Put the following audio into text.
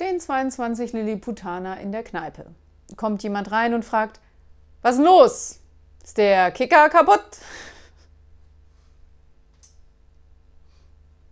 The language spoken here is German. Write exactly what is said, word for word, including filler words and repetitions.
stehen zweiundzwanzig Lilliputaner in der Kneipe. Kommt jemand rein und fragt: Was ist denn los? Ist der Kicker kaputt?